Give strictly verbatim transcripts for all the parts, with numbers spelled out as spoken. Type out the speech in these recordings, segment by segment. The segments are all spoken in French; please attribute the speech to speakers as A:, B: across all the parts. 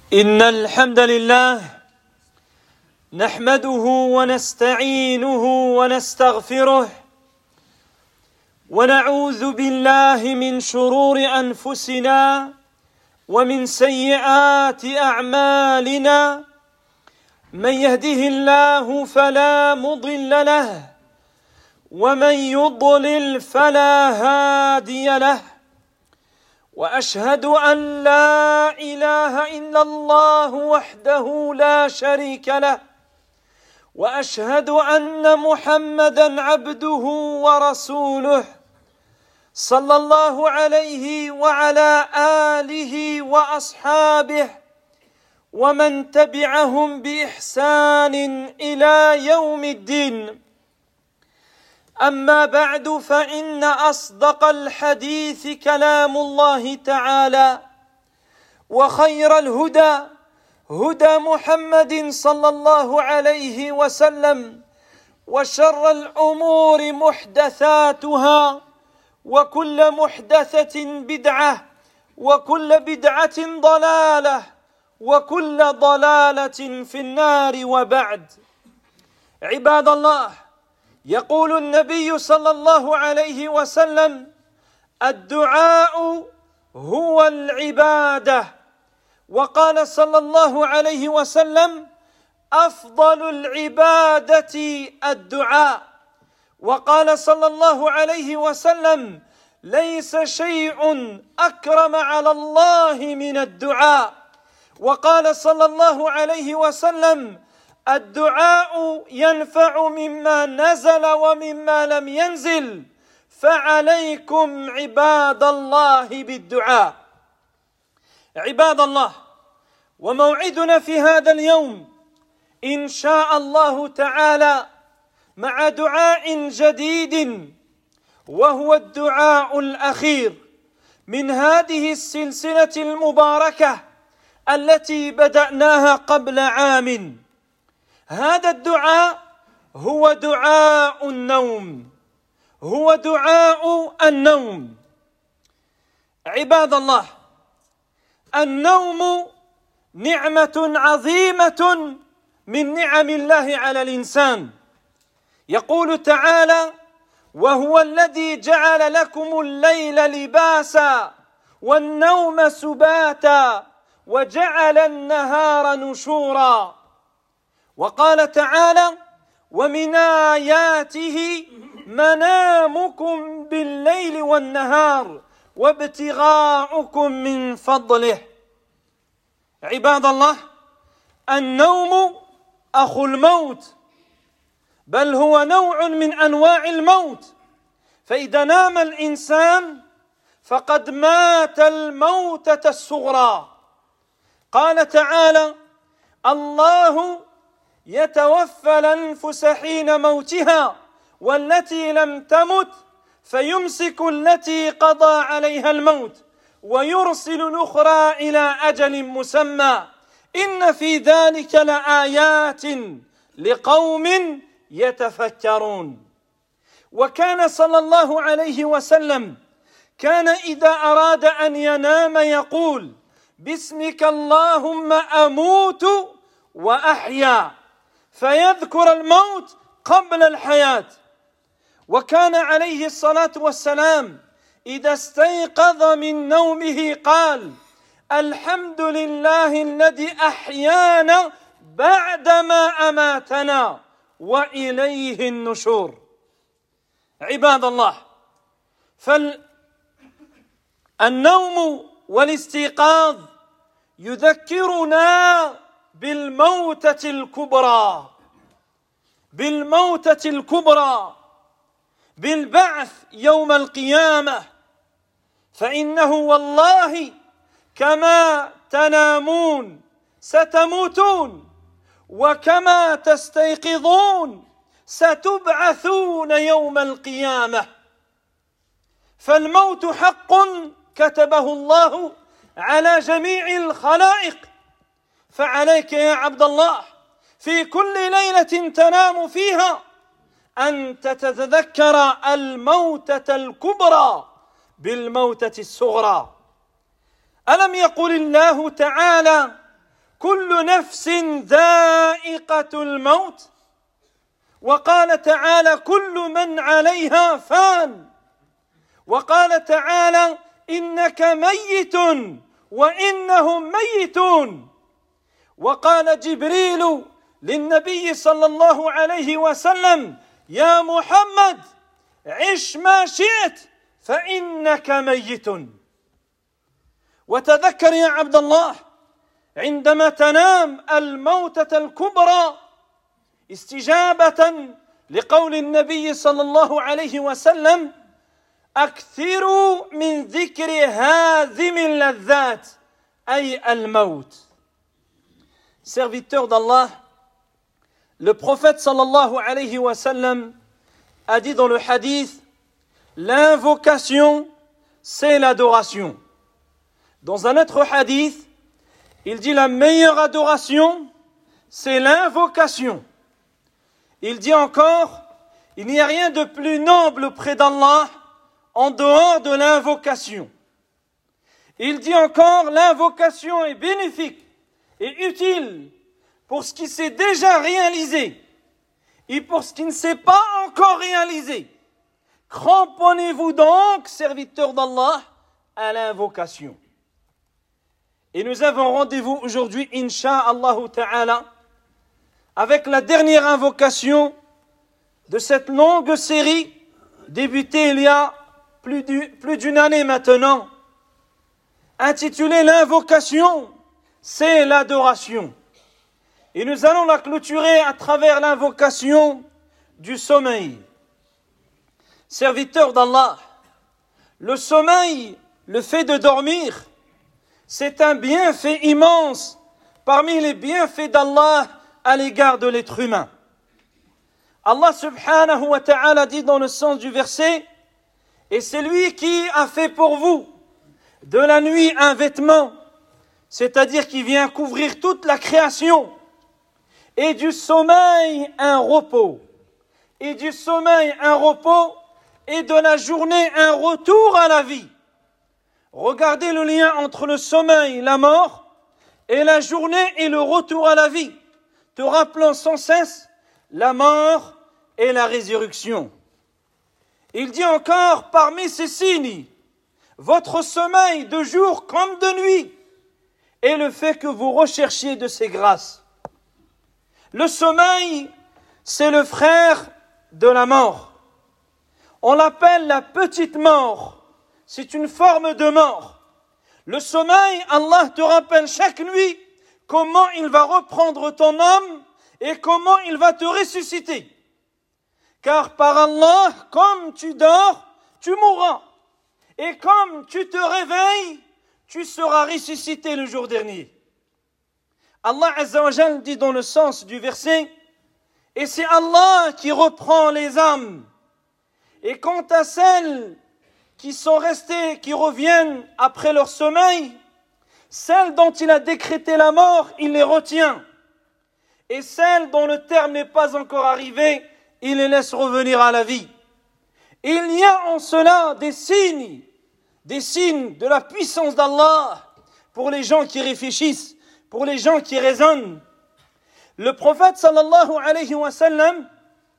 A: إن الحمد لله نحمده ونستعينه ونستغفره ونعوذ بالله من شرور أنفسنا ومن سيئات أعمالنا. من يهده الله فلا مضل له ومن يضلل فلا هادي له، وأشهد أن لا إله إلا الله وحده لا شريك له، وأشهد أن محمدًا عبده ورسوله صلى الله عليه وعلى آله وأصحابه ومن تبعهم بإحسان إلى يوم الدين. أما بعد، فإن أصدق الحديث كلام الله تعالى، وخير الهدى هدى محمد صلى الله عليه وسلم، وشر الأمور محدثاتها، وكل محدثة بدعة، وكل بدعة ضلالة، وكل ضلالة في النار. وبعد، عباد الله، يقول النبي صلى الله عليه وسلم: الدعاء هو العبادة. وقال صلى الله عليه وسلم: أفضل العبادة الدعاء. وقال صلى الله عليه وسلم: ليس شيء أكرم على الله من الدعاء. وقال صلى الله عليه وسلم: الدعاء ينفع مما نزل ومما لم ينزل، فعليكم عباد الله بالدعاء. عباد الله، وموعدنا في هذا اليوم إن شاء الله تعالى مع دعاء جديد، وهو الدعاء الأخير من هذه السلسلة المباركة التي بدأناها قبل عام. هذا الدعاء هو دعاء النوم، هو دعاء النوم. عباد الله، النوم نعمة عظيمة من نعم الله على الإنسان. يقول تعالى: وهو الذي جعل لكم الليل لباسا والنوم سباتا وجعل النهار نشورا. وقال تعالى: ومن آياته منامكم بالليل والنهار وابتغاؤكم من فضله. عباد الله، النوم أخو الموت، بل هو نوع من أنواع الموت. فإذا نام الإنسان فقد مات الموتة الصغرى. قال تعالى: الله يتوفى الأنفس حين موتها والتي لم تمت فيمسك التي قضى عليها الموت ويرسل الأخرى إلى أجل مسمى إن في ذلك لآيات لقوم يتفكرون. وكان صلى الله عليه وسلم كان إذا أراد أن ينام يقول: باسمك اللهم أموت وأحيا، فيذكر الموت قبل الحياة. وكان عليه الصلاة والسلام إذا استيقظ من نومه قال: الحمد لله الذي أحيانا بعدما أماتنا وإليه النشور. عباد الله، فالنوم والاستيقاظ يذكرنا بالموتة الكبرى، بالموتة الكبرى، بالبعث يوم القيامة. فإنه والله كما تنامون ستموتون، وكما تستيقظون ستبعثون يوم القيامة. فالموت حق كتبه الله على جميع الخلائق. فعليك يا عبد الله في كل ليلة تنام فيها أن تتذكر الموتة الكبرى بالموتة الصغرى. ألم يقل الله تعالى: كل نفس ذائقة الموت وقال تعالى كل من عليها فان وقال تعالى إنك ميت وإنهم ميتون وقال جبريل للنبي صلى الله عليه وسلم يا محمد عش ما شئت فإنك ميت وتذكر يا عبد الله عندما تنام الموتة الكبرى استجابة لقول النبي صلى الله عليه وسلم أكثروا من ذكر هازم اللذات أي الموت. Serviteur d'Allah, le prophète sallallahu alayhi wa sallam a dit dans le hadith, l'invocation, c'est l'adoration. Dans un autre hadith, il dit la meilleure adoration, c'est l'invocation. Il dit encore, il n'y a rien de plus noble près d'Allah en dehors de l'invocation. Il dit encore, l'invocation est bénéfique et utile pour ce qui s'est déjà réalisé et pour ce qui ne s'est pas encore réalisé. Cramponnez-vous donc, serviteurs d'Allah, à l'invocation. Et nous avons rendez-vous aujourd'hui, Inch'Allah Ta'ala, avec la dernière invocation de cette longue série débutée il y a plus, du, plus d'une année maintenant, intitulée l'invocation, c'est l'adoration. Et nous allons la clôturer à travers l'invocation du sommeil. Serviteur d'Allah, le sommeil, le fait de dormir, c'est un bienfait immense parmi les bienfaits d'Allah à l'égard de l'être humain. Allah subhanahu wa ta'ala dit dans le sens du verset, et c'est lui qui a fait pour vous de la nuit un vêtement, c'est-à-dire qui vient couvrir toute la création, et du sommeil un repos, et du sommeil un repos, et de la journée un retour à la vie. Regardez le lien entre le sommeil, la mort, et la journée et le retour à la vie, te rappelant sans cesse la mort et la résurrection. Il dit encore, parmi ces signes, votre sommeil de jour comme de nuit, et le fait que vous recherchiez de ses grâces. Le sommeil, c'est le frère de la mort. On l'appelle la petite mort. C'est une forme de mort. Le sommeil, Allah te rappelle chaque nuit comment il va reprendre ton âme et comment il va te ressusciter. Car par Allah, comme tu dors, tu mourras. Et comme tu te réveilles, tu seras ressuscité le jour dernier. Allah Azza wa Jal dit dans le sens du verset, et c'est Allah qui reprend les âmes. Et quant à celles qui sont restées, qui reviennent après leur sommeil, celles dont il a décrété la mort, il les retient. Et celles dont le terme n'est pas encore arrivé, il les laisse revenir à la vie. Il y a en cela des signes, des signes de la puissance d'Allah pour les gens qui réfléchissent, pour les gens qui raisonnent. Le prophète sallallahu alayhi wa sallam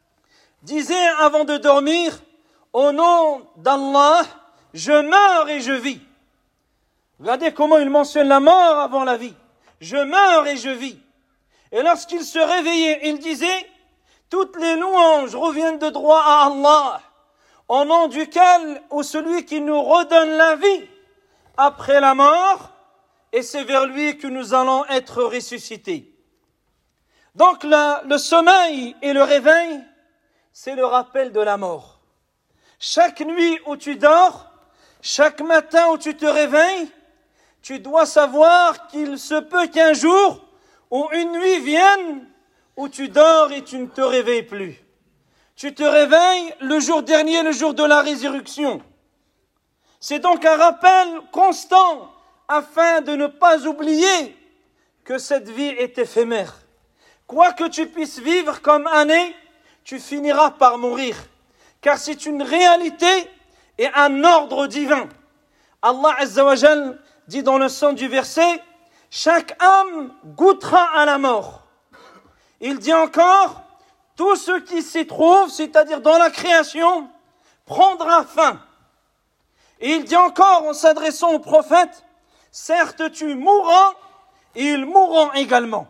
A: disait avant de dormir, au nom d'Allah, je meurs et je vis. Regardez comment il mentionne la mort avant la vie. Je meurs et je vis. Et lorsqu'il se réveillait, il disait, toutes les louanges reviennent de droit à Allah, au nom duquel, ou celui qui nous redonne la vie après la mort, et c'est vers lui que nous allons être ressuscités. Donc la, le sommeil et le réveil, c'est le rappel de la mort. Chaque nuit où tu dors, chaque matin où tu te réveilles, tu dois savoir qu'il se peut qu'un jour ou une nuit vienne où tu dors et tu ne te réveilles plus. Tu te réveilles le jour dernier, le jour de la résurrection. C'est donc un rappel constant afin de ne pas oublier que cette vie est éphémère. Quoi que tu puisses vivre comme année, tu finiras par mourir. Car c'est une réalité et un ordre divin. Allah Azza wa Jal dit dans le sens du verset, chaque âme goûtera à la mort. Il dit encore, tout ce qui s'y trouve, c'est-à-dire dans la création, prendra fin. Et il dit encore, en s'adressant au prophète, certes tu mourras, et ils mourront également.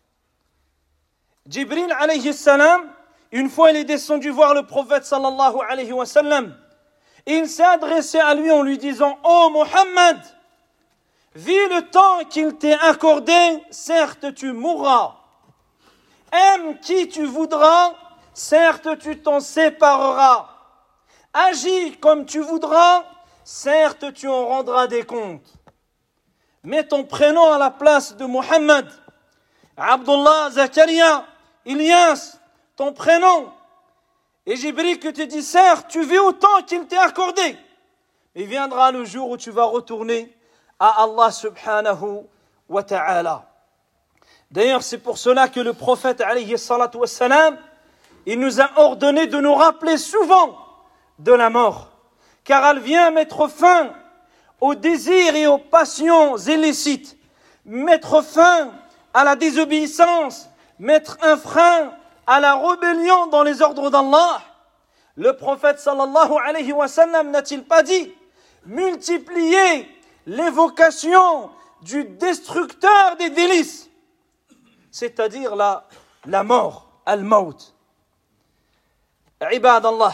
A: Jibril alayhi salam, une fois il est descendu voir le prophète sallallahu alayhi wa sallam, et il s'est adressé à lui en lui disant, ô Mohammed, vis le temps qu'il t'est accordé, certes tu mourras. Aime qui tu voudras, certes tu t'en sépareras. Agis comme tu voudras, certes tu en rendras des comptes. Mets ton prénom à la place de Mohammed, Abdullah, Zakaria, Ilyas, ton prénom. Et Jibril que te dit, certes, tu vis autant qu'il t'est accordé. Il viendra le jour où tu vas retourner à Allah subhanahu wa ta'ala. D'ailleurs, c'est pour cela que le prophète, alayhi salatu wassalam, il nous a ordonné de nous rappeler souvent de la mort. Car elle vient mettre fin aux désirs et aux passions illicites, mettre fin à la désobéissance, mettre un frein à la rébellion dans les ordres d'Allah. Le prophète sallallahu alayhi wa sallam n'a-t-il pas dit multiplier l'évocation du destructeur des délices, c'est-à-dire la, la mort, al-maut. عباد الله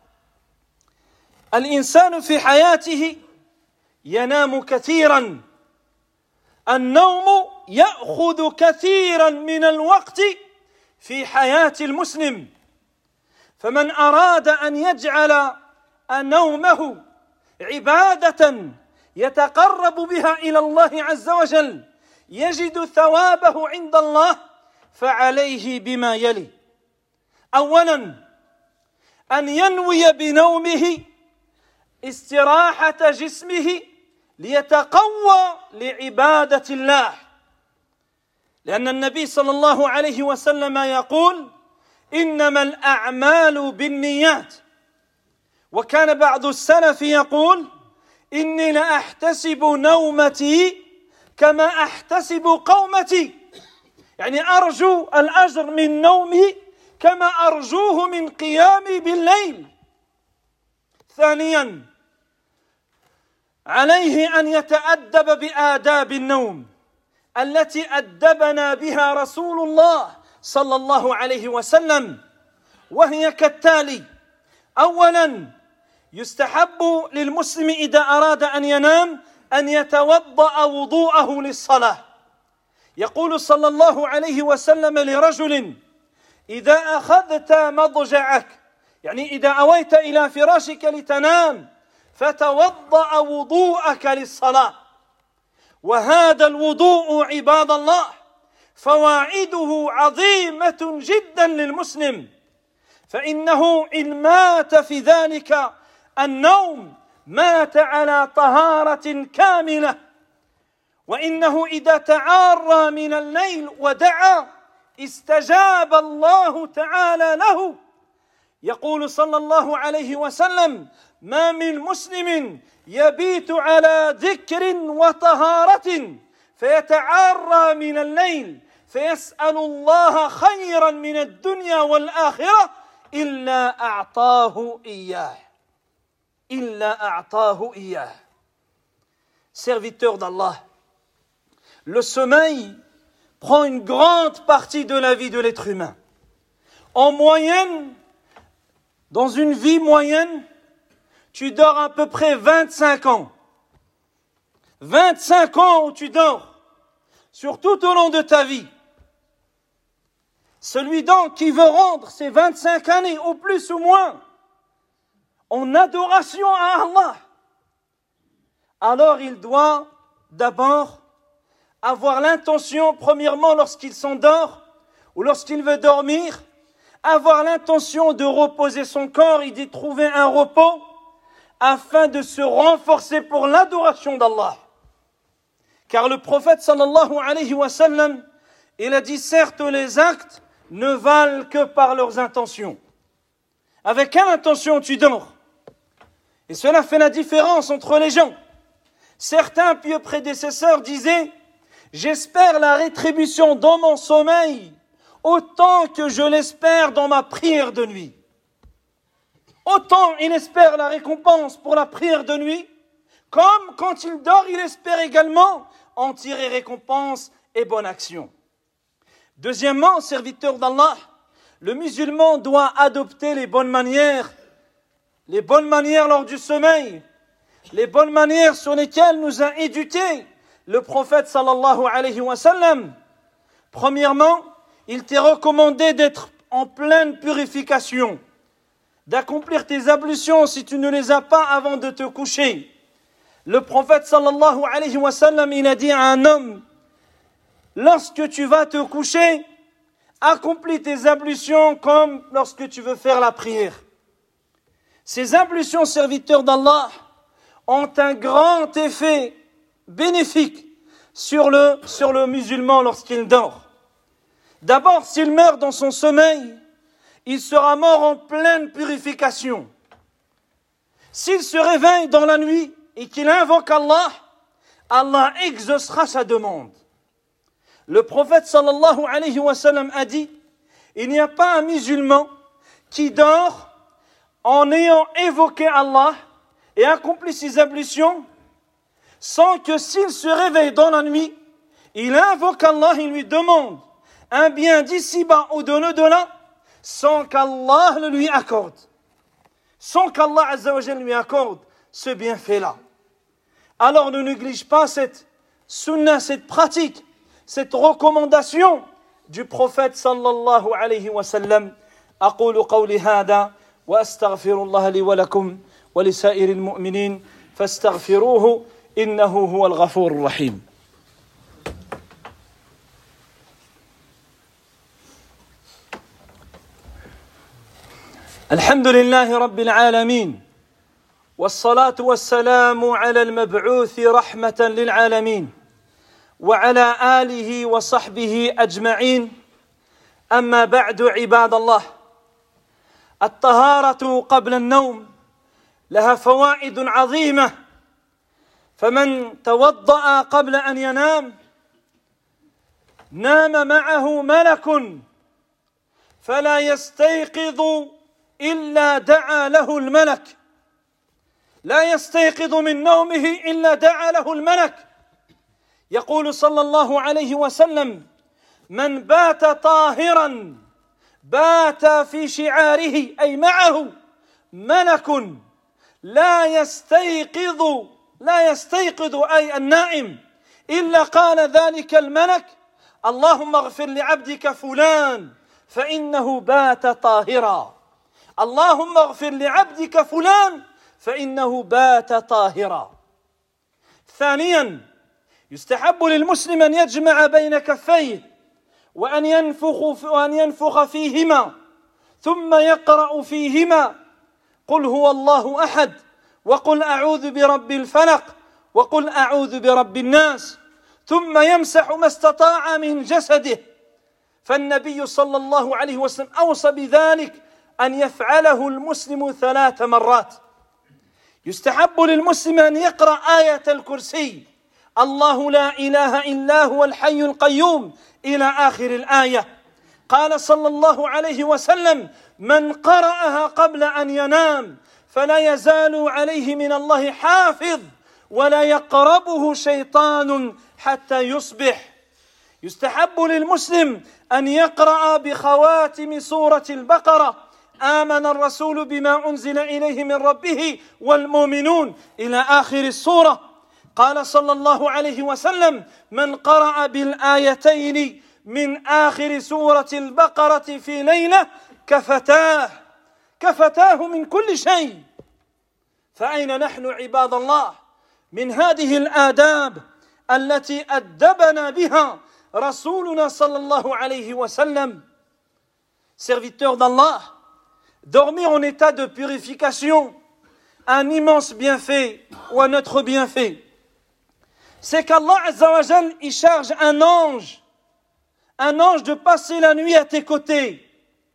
A: الإنسان في حياته ينام كثيرا النوم يأخذ كثيرا من الوقت في حياة المسلم فمن أراد أن يجعل نومه عبادة يتقرب بها إلى الله عز وجل يجد ثوابه عند الله فعليه بما يلي أولا أن ينوي بنومه استراحة جسمه ليتقوى لعبادة الله لأن النبي صلى الله عليه وسلم يقول إنما الأعمال بالنيات وكان بعض السلف يقول إني لأحتسب نومتي كما أحتسب قومتي يعني أرجو الأجر من نومي كما أرجوه من قيامي بالليل ثانيا عليه أن يتأدب بآداب النوم التي أدبنا بها رسول الله صلى الله عليه وسلم وهي كالتالي أولا يستحب للمسلم إذا أراد أن ينام أن يتوضأ وضوءه للصلاة يقول صلى الله عليه وسلم لرجل إذا أخذت مضجعك يعني إذا أويت إلى فراشك لتنام فتوضأ وضوءك للصلاة وهذا الوضوء عباد الله فواعده عظيمة جدا للمسلم فإنه إن مات في ذلك النوم مات على طهارة كاملة وإنه إذا تعارى من الليل ودعا استجاب الله تعالى له يقول صلى الله عليه وسلم ما من مسلم يبيت على ذكر وطهارة فيتعارى من الليل فيسأل الله خيرا من الدنيا والآخرة إلا أعطاه إياه إلا أعطاه إياه Serviteur d'Allah, le sommeil prend une grande partie de la vie de l'être humain. En moyenne, dans une vie moyenne, tu dors à peu près vingt-cinq ans. vingt-cinq ans où tu dors, sur tout au long de ta vie. Celui donc qui veut rendre ces vingt-cinq années, au plus ou moins, en adoration à Allah, alors il doit d'abord avoir l'intention, premièrement lorsqu'il s'endort ou lorsqu'il veut dormir, avoir l'intention de reposer son corps et d'y trouver un repos afin de se renforcer pour l'adoration d'Allah. Car le prophète sallallahu alayhi wa sallam, il a dit certes les actes ne valent que par leurs intentions. Avec quelle intention tu dors? Et cela fait la différence entre les gens. Certains pieux prédécesseurs disaient j'espère la rétribution dans mon sommeil autant que je l'espère dans ma prière de nuit. Autant il espère la récompense pour la prière de nuit, comme quand il dort, il espère également en tirer récompense et bonne action. Deuxièmement, serviteur d'Allah, le musulman doit adopter les bonnes manières, les bonnes manières lors du sommeil, les bonnes manières sur lesquelles nous a éduqués le prophète sallallahu alayhi wa sallam. Premièrement, il t'est recommandé d'être en pleine purification, d'accomplir tes ablutions si tu ne les as pas avant de te coucher. Le prophète sallallahu alayhi wa sallam, il a dit à un homme, lorsque tu vas te coucher, accomplis tes ablutions comme lorsque tu veux faire la prière. Ces ablutions, serviteurs d'Allah, ont un grand effet bénéfique sur le, sur le musulman lorsqu'il dort. D'abord, s'il meurt dans son sommeil, il sera mort en pleine purification. S'il se réveille dans la nuit et qu'il invoque Allah, Allah exaucera sa demande. Le prophète sallallahu alayhi wa sallam a dit, il n'y a pas un musulman qui dort en ayant évoqué Allah et accompli ses ablutions sans que s'il se réveille dans la nuit, il invoque Allah, il lui demande un bien d'ici-bas ou de l'au-delà sans qu'Allah le lui accorde. Sans qu'Allah azza wa jalla lui accorde ce bienfait-là. Alors ne néglige pas cette sunna, cette pratique, cette recommandation du prophète sallallahu alayhi wa sallam. أقول قولي هذا وأستغفر الله لي ولكم ولسائر المؤمنين فاستغفروه إنه هو الغفور الرحيم. الحمد لله رب العالمين والصلاة والسلام على المبعوث رحمة للعالمين وعلى آله وصحبه أجمعين. أما بعد عباد الله، الطهارة قبل النوم لها فوائد عظيمة، فمن توضأ قبل أن ينام نام معه ملك فلا يستيقظ إلا دعا له الملك، لا يستيقظ من نومه إلا دعا له الملك. يقول صلى الله عليه وسلم: من بات طاهرا بات في شعاره، أي معه ملك لا يستيقظ لا يستيقظ أي النائم إلا قال ذلك الملك: اللهم اغفر لعبدك فلان فإنه بات طاهرا، اللهم اغفر لعبدك فلان فإنه بات طاهرا. ثانيا، يستحب للمسلم أن يجمع بين كفيه وأن ينفخ وأن ينفخ فيهما ثم يقرأ فيهما قل هو الله أحد وقل أعوذ برب الفلق وقل أعوذ برب الناس، ثم يمسح ما استطاع من جسده، فالنبي صلى الله عليه وسلم أوصى بذلك أن يفعله المسلم ثلاث مرات. يستحب للمسلم أن يقرأ آية الكرسي: الله لا إله إلا هو الحي القيوم إلى آخر الآية. قال صلى الله عليه وسلم: من قرأها قبل أن ينام فلا يزال عليه من الله حافظ ولا يقربه شيطان حتى يصبح. يستحب للمسلم أن يقرأ بخواتم سورة البقرة: آمن الرسول بما أنزل إليه من ربه والمؤمنون إلى آخر السورة. قال صلى الله عليه وسلم: من قرأ بالآيتين من آخر سورة البقرة في ليلة كفتاه كفتاه من كل شيء. فأين نحن عباد الله من هذه الآداب التي أدبنا بها رسولنا صلى الله عليه وسلم؟ Serviteurs d'Allah, dormir en état de purification, un immense bienfait ou un autre bienfait, c'est qu'Allah Azza wa Jal, il charge un ange, un ange de passer la nuit à tes côtés,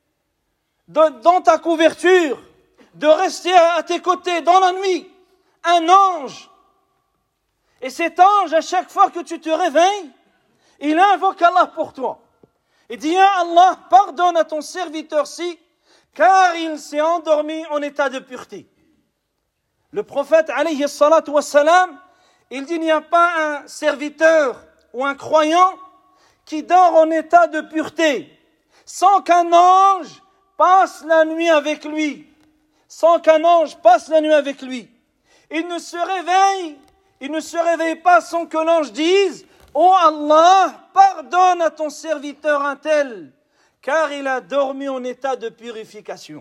A: de, dans ta couverture, de rester à tes côtés dans la nuit, un ange. Et cet ange, à chaque fois que tu te réveilles, Il invoque Allah pour toi. Il dit, ya Allah, pardonne à ton serviteur-ci, car il s'est endormi en état de pureté. Le prophète, alayhi salatu wassalam, il dit, il n'y a pas un serviteur ou un croyant qui dort en état de pureté, sans qu'un ange passe la nuit avec lui. Sans qu'un ange passe la nuit avec lui. Il ne se réveille, il ne se réveille pas sans que l'ange dise, ô Allah, pardonne à ton serviteur un tel, car il a dormi en état de purification.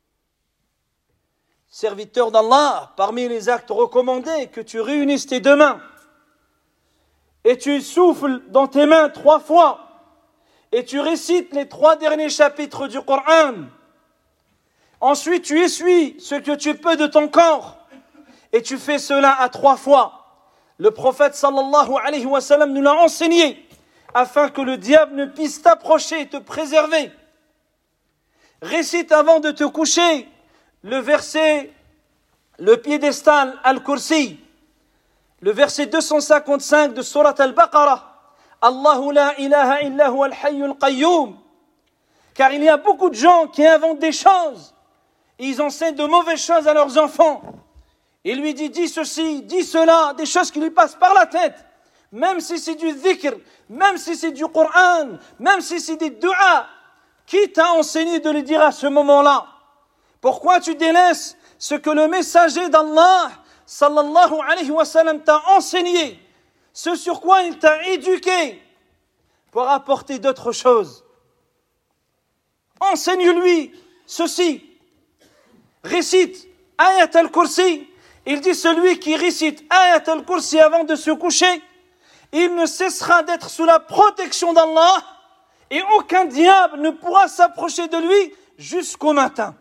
A: Serviteur d'Allah, parmi les actes recommandés, que tu réunisses tes deux mains, et tu souffles dans tes mains trois fois, et tu récites les trois derniers chapitres du Coran. Ensuite, tu essuies ce que tu peux de ton corps, et tu fais cela à trois fois. Le prophète sallallahu alayhi wa sallam nous l'a enseigné, afin que le diable ne puisse t'approcher et te préserver. Récite avant de te coucher le verset, le piédestal Al-Kursi, le verset deux cent cinquante-cinq de Surat Al-Baqarah. Allahu la ilaha illa huwa al-hayyul qayyum. Car il y a beaucoup de gens qui inventent des choses. Ils enseignent de mauvaises choses à leurs enfants. Il lui dit, dis ceci, dis cela, des choses qui lui passent par la tête. Même si c'est du dhikr, même si c'est du Coran, même si c'est des du'a. Qui t'a enseigné de le dire à ce moment-là? Pourquoi tu délaisses ce que le messager d'Allah, sallallahu alayhi wa sallam, t'a enseigné? Ce sur quoi il t'a éduqué pour apporter d'autres choses. Enseigne-lui ceci. Récite Ayat al-Kursi. Il dit celui qui récite Ayat al-Kursi avant de se coucher, il ne cessera d'être sous la protection d'Allah et aucun diable ne pourra s'approcher de lui jusqu'au matin.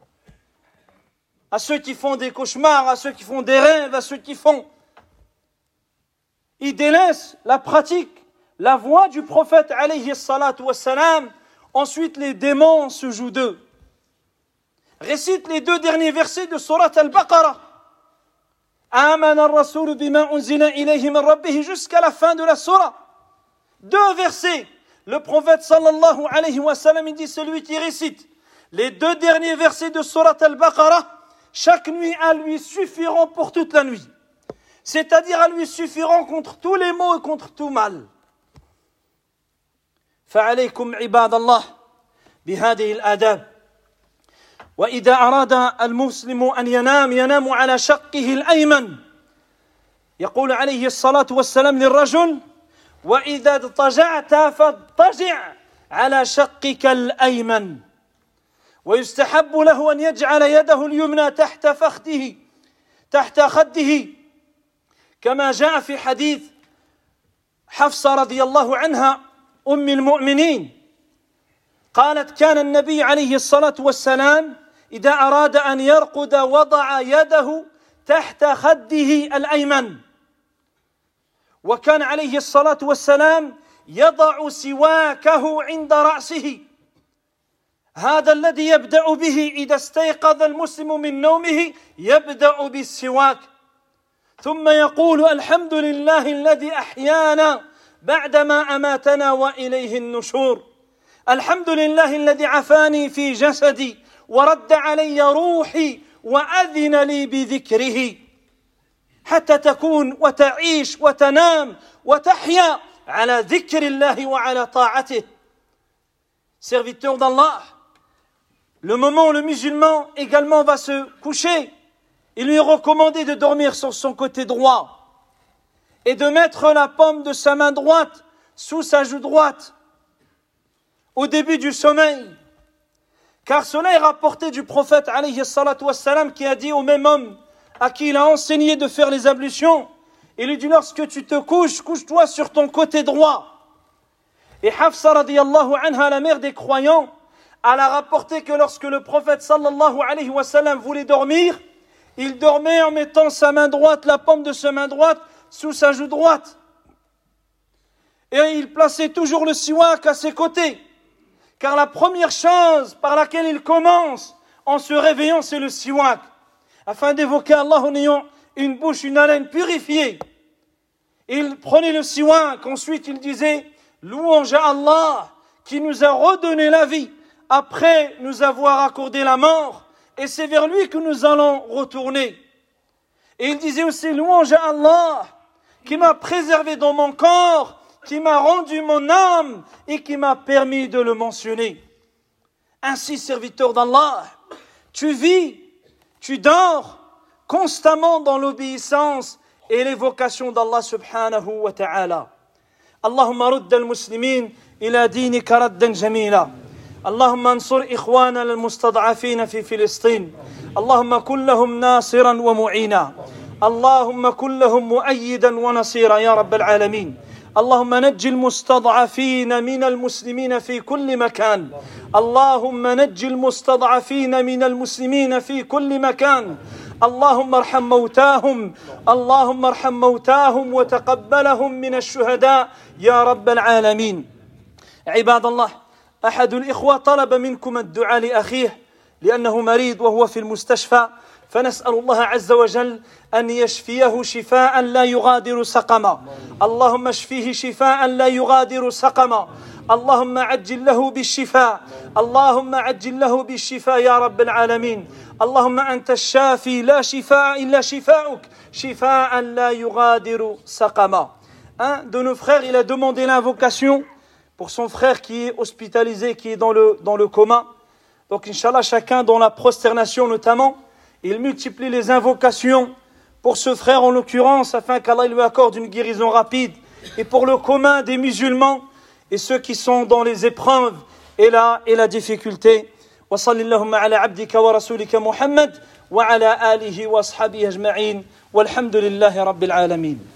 A: À ceux qui font des cauchemars, à ceux qui font des rêves, à ceux qui font... Ils délaissent la pratique, la voix du prophète alayhi salatu wassalam. Ensuite, les démons se jouent d'eux. Récite les deux derniers versets de Surat Al-Baqarah. Amana ar-rasoul bima unzila ilayhi min rabbih, jusqu'à la fin de la surah. Deux versets. Le prophète sallallahu alayhi wa sallam, il dit celui qui récite les deux derniers versets de Surat Al-Baqarah, chaque nuit à lui suffiront pour toute la nuit. C'est-à-dire à lui suffiront contre tous les maux et contre tout mal. فعليكم عباد الله بهذه الآداب. وإذا أراد المسلم أن ينام ينام على شقه الأيمن. يقول عليه الصلاة والسلام للرجل: وإذا اضطجعت فاضطجع على شقك الأيمن. ويستحب له أن يجعل يده اليمنى تحت فخذه تحت خده كما جاء في حديث حفصة رضي الله عنها أم المؤمنين قالت: كان النبي عليه الصلاة والسلام إذا أراد أن يرقد وضع يده تحت خده الأيمن، وكان عليه الصلاة والسلام يضع سواكه عند رأسه، هذا الذي يبدأ به إذا استيقظ المسلم من نومه، يبدأ بالسواك ثم يقول: الحمد لله الذي أحيانا بعدما أماتنا وإليه النشور، الحمد لله الذي عافاني في جسدي ورد علي روحي وأذن لي بذكره، حتى تكون وتعيش وتنام وتحيا على ذكر الله وعلى طاعته. Serviteur d'Allah, le moment où le musulman également va se coucher, il lui est recommandé de dormir sur son côté droit et de mettre la paume de sa main droite sous sa joue droite au début du sommeil. Car cela est rapporté du prophète alayhi salatu wassalam, qui a dit au même homme à qui il a enseigné de faire les ablutions, il lui dit: lorsque tu te couches, couche-toi sur ton côté droit. Et Hafsa radiyallahu anha, la mère des croyants, elle a rapporté que lorsque le prophète sallallahu alayhi wa sallam voulait dormir, il dormait en mettant sa main droite, la paume de sa main droite, sous sa joue droite. Et il plaçait toujours le siwak à ses côtés. Car la première chose par laquelle il commence en se réveillant, c'est le siwak. Afin d'évoquer Allah en ayant une bouche, une haleine purifiée. Il prenait le siwak, ensuite il disait: louange à Allah qui nous a redonné la vie après nous avoir accordé la mort, et c'est vers lui que nous allons retourner. Et il disait aussi louange à Allah qui m'a préservé dans mon corps, qui m'a rendu mon âme et qui m'a permis de le mentionner. Ainsi, serviteur d'Allah, tu vis, tu dors constamment dans l'obéissance et l'évocation d'Allah subhanahu wa ta'ala. Allahumma rudda al-muslimin ila dinika raddan jamila. اللهم انصر إخواننا المستضعفين في فلسطين اللهم كن لهم ناصرا ومعينا اللهم كن لهم مؤيدا ونصيرا يا رب العالمين اللهم نج المستضعفين من المسلمين في كل مكان اللهم نج المستضعفين من المسلمين في كل مكان اللهم ارحم موتاهم اللهم ارحم موتاهم وتقبلهم من الشهداء يا رب العالمين عباد الله أحد الإخوة طلب منكم الدعاء لأخيه لأنه مريض وهو في المستشفى فنسأل الله عز وجل أن يشفيه شفاء لا يغادر سقما اللهم اشفيه شفاء لا يغادر سقما اللهم عجل له بالشفاء اللهم عجل له بالشفاء يا رب العالمين اللهم أنت الشافي لا شفاء إلا شفاؤك شفاء لا يغادر سقما. Un de nos frères, il a demandé l'invocation pour son frère qui est hospitalisé, qui est dans le, dans le coma. Donc, Inch'Allah, chacun dans la prosternation notamment, il multiplie les invocations pour ce frère en l'occurrence, afin qu'Allah lui accorde une guérison rapide, et pour le commun des musulmans et ceux qui sont dans les épreuves et la, et la difficulté. Wa sallallahu ala abdika wa rasulika Muhammad wa ala alihi wa ashabihi ajma'in walhamdulillahi rabbil alamin.